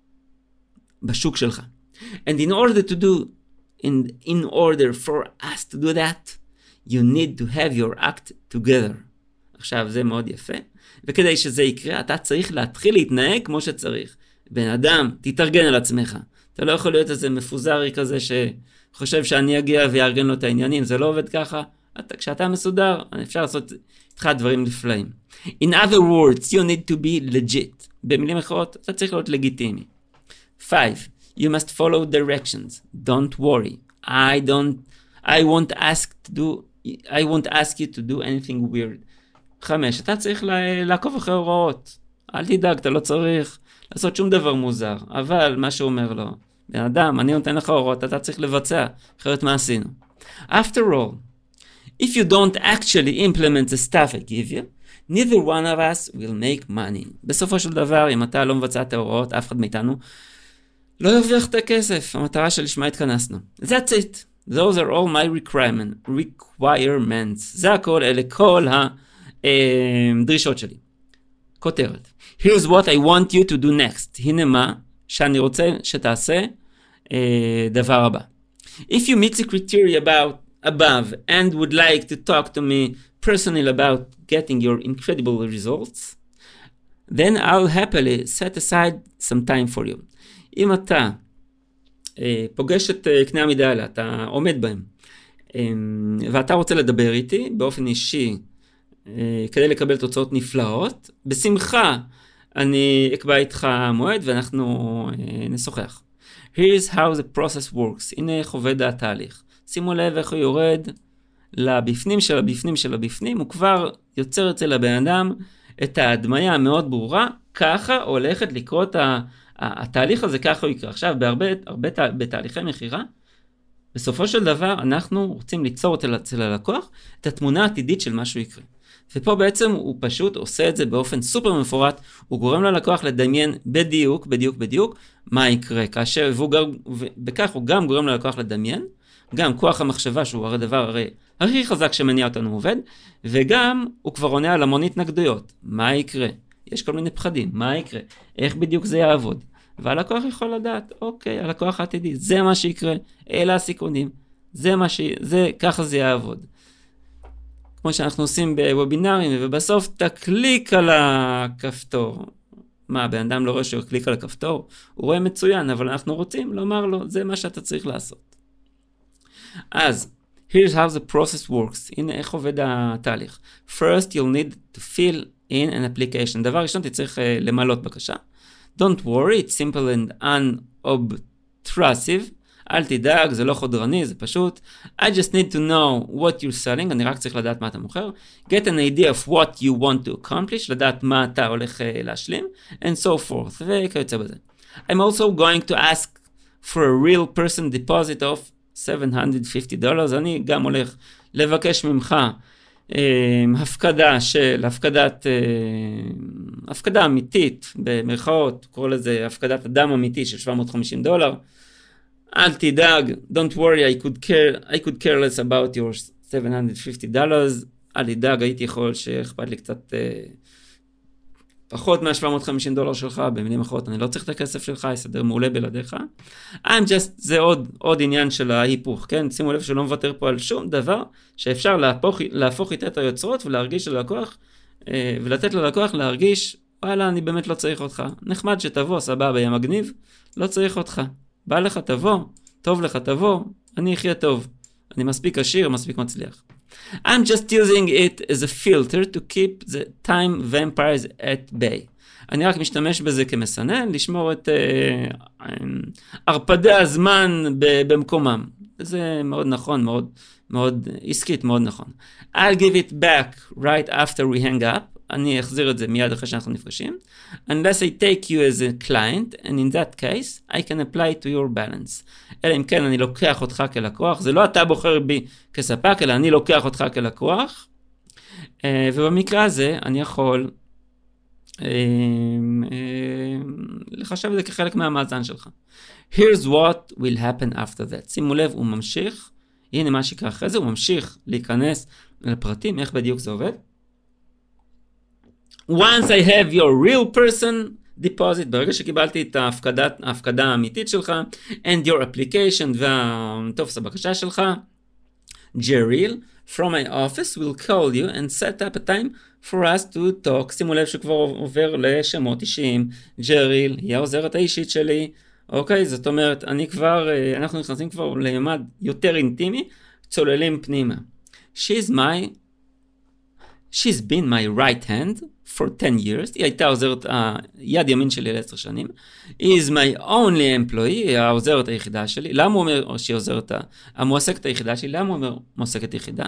בשוק שלך. And in order to do, in, in order for us to do that, you need to have your act together. עכשיו זה מאוד יפה. וכדי שזה יקרה, אתה צריך להתחיל להתנהג כמו שצריך. בן אדם, תתארגן על עצמך. אתה לא יכול להיות איזה מפוזרי כזה שחושב שאני אגיע ויארגן לו את העניינים. זה לא עובד ככה. אתה, כשאתה מסודר, אפשר לעשות איתך דברים נפלאים. In other words, you need to be legit. במילים אחרות, אתה צריך להיות לגיטימי. five. You must follow directions. Don't worry. I don't, I won't ask to do, I won't ask you to do anything weird. חמש. אתה צריך לעקוב אחרי הוראות. אל תדאג, אתה לא צריך לעשות שום דבר מוזר. אבל מה שהוא אומר לו, בן אדם, אני נותן לך הוראות, אתה צריך לבצע. אחרת מה עשינו? After all, if you don't actually implement the stuff I give you, neither one of us will make money. בסופו של דבר, אם אתה לא מבצע את ההוראות, אף אחד מאיתנו לא ירוויח את הכסף. המטרה שלשמה התכנסנו. That's it. Those are all my requirement, requirements. זה הכל, אלה כל הדרישות שלי. כותרת. Here's what I want you to do next. הנה מה שאני רוצה שתעשה דבר הבא. If you meet the criteria about above and would like to talk to me personally about getting your incredible results, then I'll happily set aside some time for you. אם אתה אה, פוגש את אה, קנה המידה האלה, אתה עומד בהם, אה, ואתה רוצה לדבר איתי באופן אישי, אה, כדי לקבל תוצאות נפלאות, בשמחה אני אקבע איתך מועד ואנחנו אה, נשוחח. Here's how the process works. הנה איך עובד התהליך. שימו לב איך הוא יורד לבפנים של הבפנים של הבפנים, הוא כבר יוצר אצל הבן אדם את ההדמיה המאוד ברורה, ככה הולכת לקרות ה... התהליך הזה, ככה הוא יקרה. עכשיו, בהרבה, הרבה, בתהליכי מחירה, בסופו של דבר, אנחנו רוצים ליצור אצל הלקוח את התמונה העתידית של משהו יקרה. ופה בעצם הוא פשוט עושה את זה באופן סופר מפורט, הוא גורם ללקוח לדמיין בדיוק, בדיוק, בדיוק, מה יקרה. כאשר, ובכך הוא גם גורם ללקוח לדמיין, גם כוח המחשבה, שהוא הרי דבר הרי הכי חזק שמניע אותנו עובד, וגם הוא כבר עונה על המון התנגדויות. מה יקרה? יש כל מיני פחדים, מה יקרה? איך בדיוק זה יעבוד? והלקוח יכול לדעת, אוקיי, הלקוח העתידי, זה מה שיקרה, אלה הסיכונים, זה מה ש... זה, ככה זה יעבוד. כמו שאנחנו עושים בוובינרים, ובסוף תקליק על הכפתור. מה, בן אדם לא רואה שהוא קליק על הכפתור? הוא רואה מצוין, אבל אנחנו רוצים לומר לו, זה מה שאתה צריך לעשות. אז, here's how the process works. הנה איך עובד התהליך. First, you'll need to fill in an application. דבר ראשון, תצטרך uh, למלות בקשה. Don't worry, it's simple and unobtrusive. אל תדאג, זה לא חודרני, זה פשוט. I just need to know what you're selling, אני רק צריך לדעת מה אתה מוכר. Get an idea of what you want to accomplish, לדעת מה אתה הולך uh, להשלים, and so forth, וכיוצא בזה. I'm also going to ask for a real person deposit of seven hundred fifty dollars, אני גם הולך לבקש ממך הפקדה של, הפקדת, הפקדה אמיתית, במרכאות, קורא לזה הפקדת אדם אמיתי של שבע מאות וחמישים דולר. אל תדאג, don't worry, I could care, I could care less about your seven hundred fifty dollars, אל תדאג, הייתי יכול שאכפת לי קצת פחות מה-שבע מאות וחמישים דולר שלך, במילים אחרות, אני לא צריך את הכסף שלך, יסדר מעולה בלעדיך. I'm just, זה עוד, עוד עניין של ההיפוך, כן? שימו לב שלא מוותר פה על שום דבר, שאפשר להפוך, להפוך איתה את היוצרות, ולהרגיש ללקוח, ולתת ללקוח להרגיש, וואלה, אני באמת לא צריך אותך. נחמד שתבוא, סבבה, יהיה מגניב, לא צריך אותך. בא לך תבוא, טוב לך תבוא, אני אחיה טוב. אני מספיק עשיר, מספיק מצליח. I'm just using it as a filter to keep the time vampires at bay. אני רק משתמש בזה כמסנן, לשמור את uh, הרפדי הזמן במקומם. זה מאוד נכון, מאוד, מאוד עסקית, מאוד נכון. I'll give it back right after we hang up. אני אחזיר את זה מיד אחרי שאנחנו נפגשים. Unless I take you as a client, and in that case, I can apply to your balance. אלא אם כן אני לוקח אותך כלקוח, זה לא אתה בוחר בי כספק, אלא אני לוקח אותך כלקוח, ובמקרה הזה אני יכול לחשב את זה כחלק מהמאזן שלך. Here's what will happen after that. שימו לב, הוא ממשיך, הנה מה שיקרה אחרי זה, הוא ממשיך להיכנס לפרטים, איך בדיוק זה עובד. Once I have your real person deposit, ברגע שקיבלתי את ההפקדה, ההפקדה האמיתית שלך, and your application והטופס הבקשה שלך, Jeril from my office will call you and set up a time for us to talk. שימו לב שכבר עובר לשמות אישיים. Jeril היא העוזרת האישית שלי. אוקיי, זאת אומרת, אני כבר, אנחנו נכנסים כבר לממד יותר אינטימי, צוללים פנימה. She's my, she's been my right hand for ten years, היא הייתה עוזרת, היד ימין שלי לעשר שנים, היא is my only employee, היא העוזרת היחידה שלי. למה הוא אומר שהיא עוזרת, המועסקת היחידה שלי? למה הוא אומר מועסקת יחידה?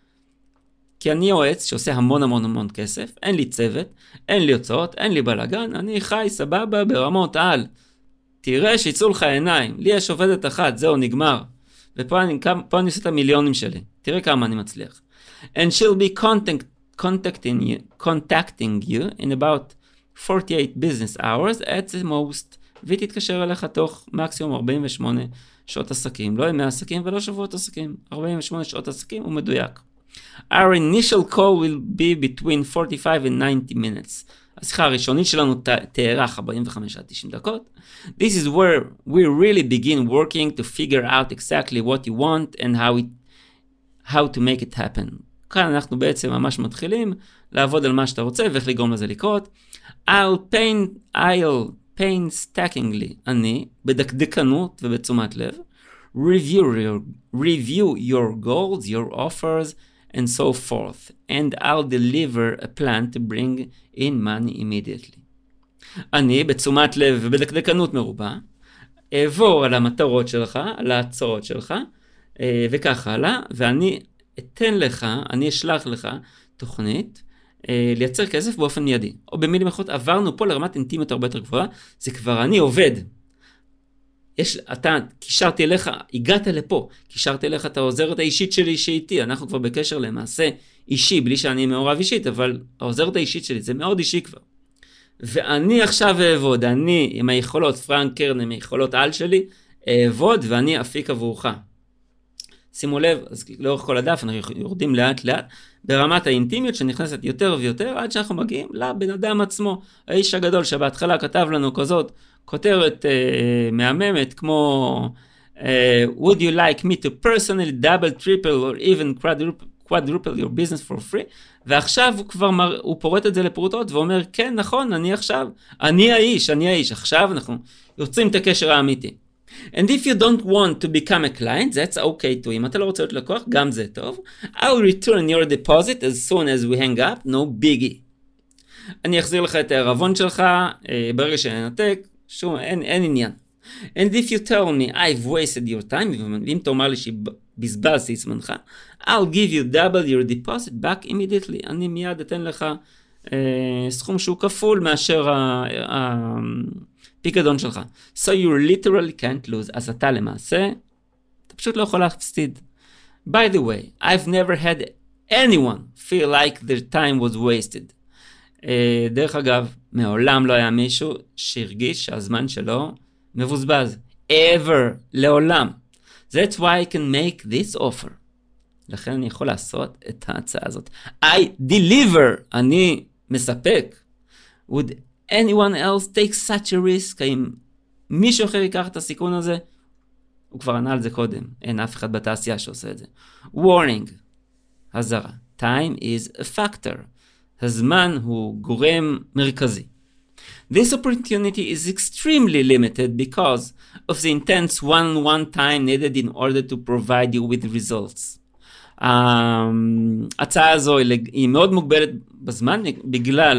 כי אני יועץ שעושה המון המון המון כסף, אין לי צוות, אין לי הוצאות, אין לי בלגן, אני חי סבבה ברמות על. תראה שיצאו לך עיניים, לי יש עובדת אחת, זהו נגמר. ופה אני, פה אני עושה את המיליונים שלי, תראה כמה אני מצליח. And she'll be contact, contacting you, contacting you in about forty-eight business hours at the most, והיא תתקשר אליך תוך מקסימום ארבעים ושמונה שעות עסקים, לא ימי עסקים ולא שבועות עסקים, ארבעים ושמונה שעות עסקים הוא מדויק. Our initial call will be between forty-five and ninety minutes. השיחה הראשונית שלנו תארך ארבעים וחמש עד תשעים דקות. This is where we really begin working to figure out exactly what you want and how it, how to make it happen. כאן אנחנו בעצם ממש מתחילים לעבוד על מה שאתה רוצה ואיך לגרום לזה לקרות. I'll paint, I'll painstakingly, אני, בדקדקנות ובתשומת לב, review your, review your goals, your offers, and so forth, and I'll deliver a plan to bring in money immediately. אני, בתשומת לב ובדקדקנות מרובה, אעבור על המטרות שלך, על ההצעות שלך, וכך הלאה, ואני אתן לך, אני אשלח לך תוכנית, לייצר כסף באופן מיידי. או במילים אחרות, עברנו פה לרמת אינטימיות הרבה יותר גבוהה, זה כבר אני עובד. יש, אתה, קישרתי אליך, הגעת לפה, קישרתי אליך את העוזרת האישית שלי שאיתי, אנחנו כבר בקשר למעשה אישי, בלי שאני מעורב אישית, אבל העוזרת האישית שלי, זה מאוד אישי כבר. ואני עכשיו אעבוד, אני עם היכולות, פרנק קרן עם היכולות העל שלי, אעבוד ואני אפיק עבורך. שימו לב, אז לאורך כל הדף אנחנו יורדים לאט לאט, ברמת האינטימיות שנכנסת יותר ויותר, עד שאנחנו מגיעים לבן אדם עצמו, האיש הגדול שבהתחלה כתב לנו כזאת, כותרת uh, מהממת כמו uh, would you like me to personally double, triple or even quadruple, quadruple your business for free, ועכשיו הוא כבר מר, הוא פורט את זה לפרוטות ואומר כן נכון אני עכשיו, אני האיש, אני האיש, עכשיו אנחנו יוצרים את הקשר האמיתי. And if you don't want to become a client, that's okay too. אם אתה לא רוצה להיות לקוח, גם זה טוב. I'll return your deposit as soon as we hang up, no biggie. אני אחזיר לך את הערבון שלך, ברגע שננתק, שום, אין, אין עניין. And if you tell me I've wasted your time, ואם תאמר לי שבזבזתי את זמנך, I'll give you double your deposit back immediately. אני מיד אתן לך אה, סכום שהוא כפול מאשר הפיקדון שלך. So you literally can't lose. אז אתה למעשה, אתה פשוט לא יכול להפסיד. By the way, I've never had anyone feel like their time was wasted. Uh, דרך אגב, מעולם לא היה מישהו שהרגיש שהזמן שלו מבוזבז. Ever, לעולם. That's why I can make this offer. לכן אני יכול לעשות את ההצעה הזאת. I deliver, אני מספק. Would anyone else take such a risk? האם מישהו אחר ייקח את הסיכון הזה? הוא כבר ענה על זה קודם. אין אף אחד בתעשייה שעושה את זה. Warning, הזרה. Time is a factor. הזמן הוא גורם מרכזי. This opportunity is extremely limited because of the intense one-on-one time needed in order to provide you with results. ההצעה הזו היא מאוד מוגבלת בזמן בגלל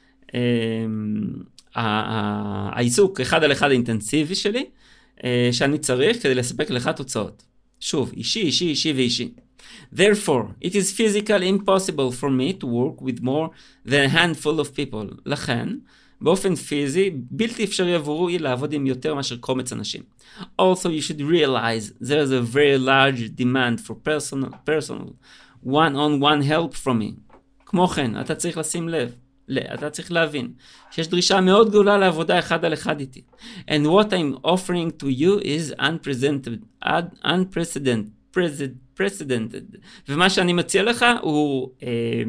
העיסוק אחד על אחד האינטנסיבי שלי שאני צריך כדי לספק לך תוצאות. שוב, אישי, אישי, אישי ואישי. Therefore, it is physically impossible for me to work with more than a handful of people. לכן, באופן פיזי, בלתי אפשרי עבורי לעבוד עם יותר מאשר קומץ אנשים. Also, you should realize there is a very large demand for personal, personal, one-on-one help from me. כמו כן, אתה צריך לשים לב, אתה צריך להבין, שיש דרישה מאוד גדולה לעבודה אחד על אחד איתי. And what I'm offering to you is unprecedented, unprecedented, precedented. ומה שאני מציע לך הוא אה,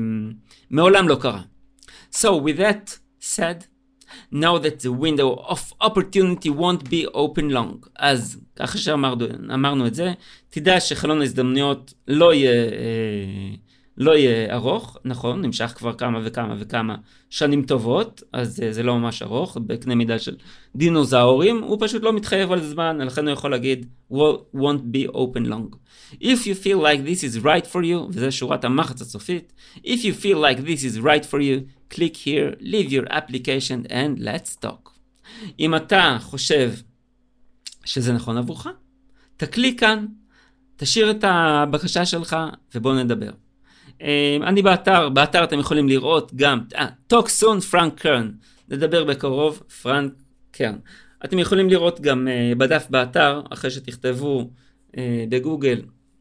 מעולם לא קרה. So, with that said, know that the window of opportunity won't be open long. אז ככה שאמרנו את זה, תדע שחלון ההזדמנויות לא יהיה, אה, לא יהיה ארוך, נכון, נמשך כבר כמה וכמה וכמה שנים טובות, אז זה, זה לא ממש ארוך, בקנה מידה של דינוזאורים, הוא פשוט לא מתחייב על זמן, לכן הוא יכול להגיד, won't be open long. If you feel like this is right for you, וזה שורת המחץ הסופית, if you feel like this is right for you, click here, leave your application and let's talk. אם אתה חושב שזה נכון עבורך, תקליק כאן, תשאיר את הבקשה שלך ובוא נדבר. אני באתר, באתר אתם יכולים לראות גם, אה, talk soon, פרנק קרן, נדבר בקרוב, פרנק קרן. אתם יכולים לראות גם uh, בדף באתר, אחרי שתכתבו uh, בגוגל,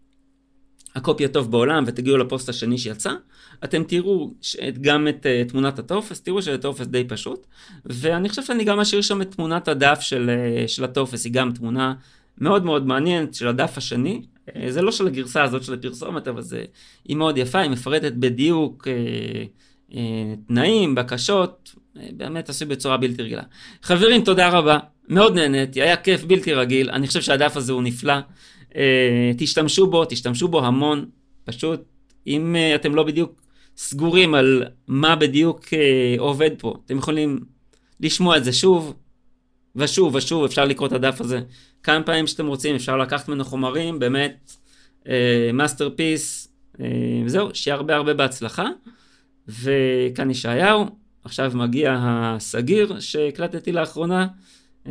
הקופי הטוב בעולם, ותגיעו לפוסט השני שיצא, אתם תראו גם את uh, תמונת הטופס, תראו שזה טופס די פשוט, ואני חושב שאני גם אשאיר שם את תמונת הדף של, uh, של הטופס, היא גם תמונה מאוד מאוד מעניינת של הדף השני, uh, זה לא של הגרסה הזאת של הפרסומת, אבל זה, היא מאוד יפה, היא מפרטת בדיוק uh, uh, תנאים, בקשות, uh, באמת עשוי בצורה בלתי רגילה. חברים, תודה רבה, מאוד נהניתי, היה כיף בלתי רגיל, אני חושב שהדף הזה הוא נפלא, Uh, תשתמשו בו, תשתמשו בו המון, פשוט אם uh, אתם לא בדיוק סגורים על מה בדיוק uh, עובד פה, אתם יכולים לשמוע את זה שוב ושוב ושוב, אפשר לקרוא את הדף הזה כמה פעמים שאתם רוצים, אפשר לקחת ממנו חומרים, באמת מאסטרפיס, uh, uh, זהו, שיהיה הרבה הרבה בהצלחה, וכאן ישעיהו, עכשיו מגיע הסגיר שהקלטתי לאחרונה, Uh,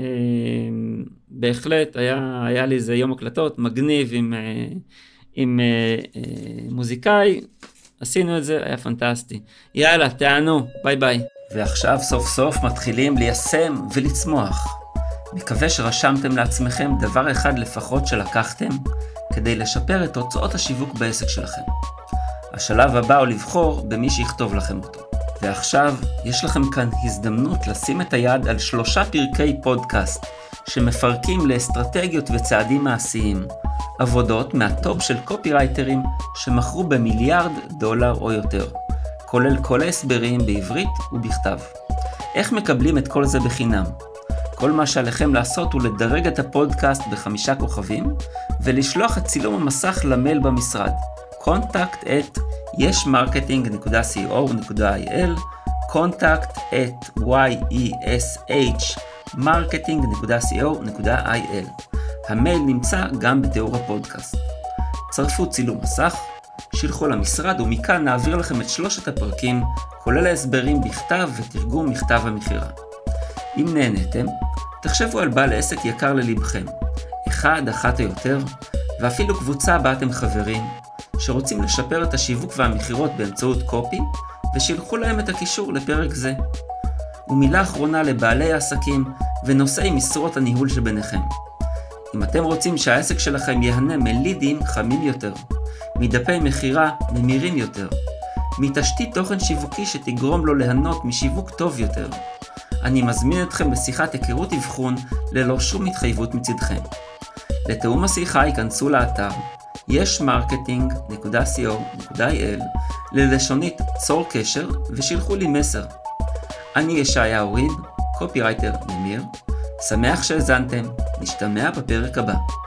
בהחלט היה, היה לי איזה יום הקלטות מגניב עם, uh, עם uh, uh, מוזיקאי, עשינו את זה, היה פנטסטי. יאללה, תענו, ביי ביי. ועכשיו סוף סוף מתחילים ליישם ולצמוח. מקווה שרשמתם לעצמכם דבר אחד לפחות שלקחתם כדי לשפר את תוצאות השיווק בעסק שלכם. השלב הבא הוא לבחור במי שיכתוב לכם אותו. ועכשיו יש לכם כאן הזדמנות לשים את היד על שלושה פרקי פודקאסט שמפרקים לאסטרטגיות וצעדים מעשיים, עבודות מהטופ של קופירייטרים שמכרו במיליארד דולר או יותר, כולל כל ההסברים בעברית ובכתב. איך מקבלים את כל זה בחינם? כל מה שעליכם לעשות הוא לדרג את הפודקאסט בחמישה כוכבים ולשלוח את צילום המסך למייל במשרד. contact at yesmarketing dot co dot il contact at yeshmarketing dot co dot il. המייל נמצא גם בתיאור הפודקאסט. צרפו צילום מסך, שילחו למשרד ומכאן נעביר לכם את שלושת הפרקים, כולל ההסברים בכתב ותרגום מכתב המכירה. אם נהניתם, תחשבו על בעל עסק יקר ללבכם, אחד, אחת או יותר, ואפילו קבוצה בה אתם חברים, שרוצים לשפר את השיווק והמחירות באמצעות קופי, ושילחו להם את הקישור לפרק זה. ומילה אחרונה לבעלי העסקים ונושאי משרות הניהול שביניכם. אם אתם רוצים שהעסק שלכם יהנה מלידים חמים יותר, מדפי מחירה ממירים יותר, מתשתית תוכן שיווקי שתגרום לו ליהנות משיווק טוב יותר, אני מזמין אתכם לשיחת היכרות אבחון ללא שום התחייבות מצדכם. לתאום השיחה ייכנסו לאתר יש מרקטינג נקודה סי או נקודה איי אל ללשונית צור קשר ושילחו לי מסר. אני ישעיהו ריד, קופירייטר ממיר, שמח שהזנתם, נשתמע בפרק הבא.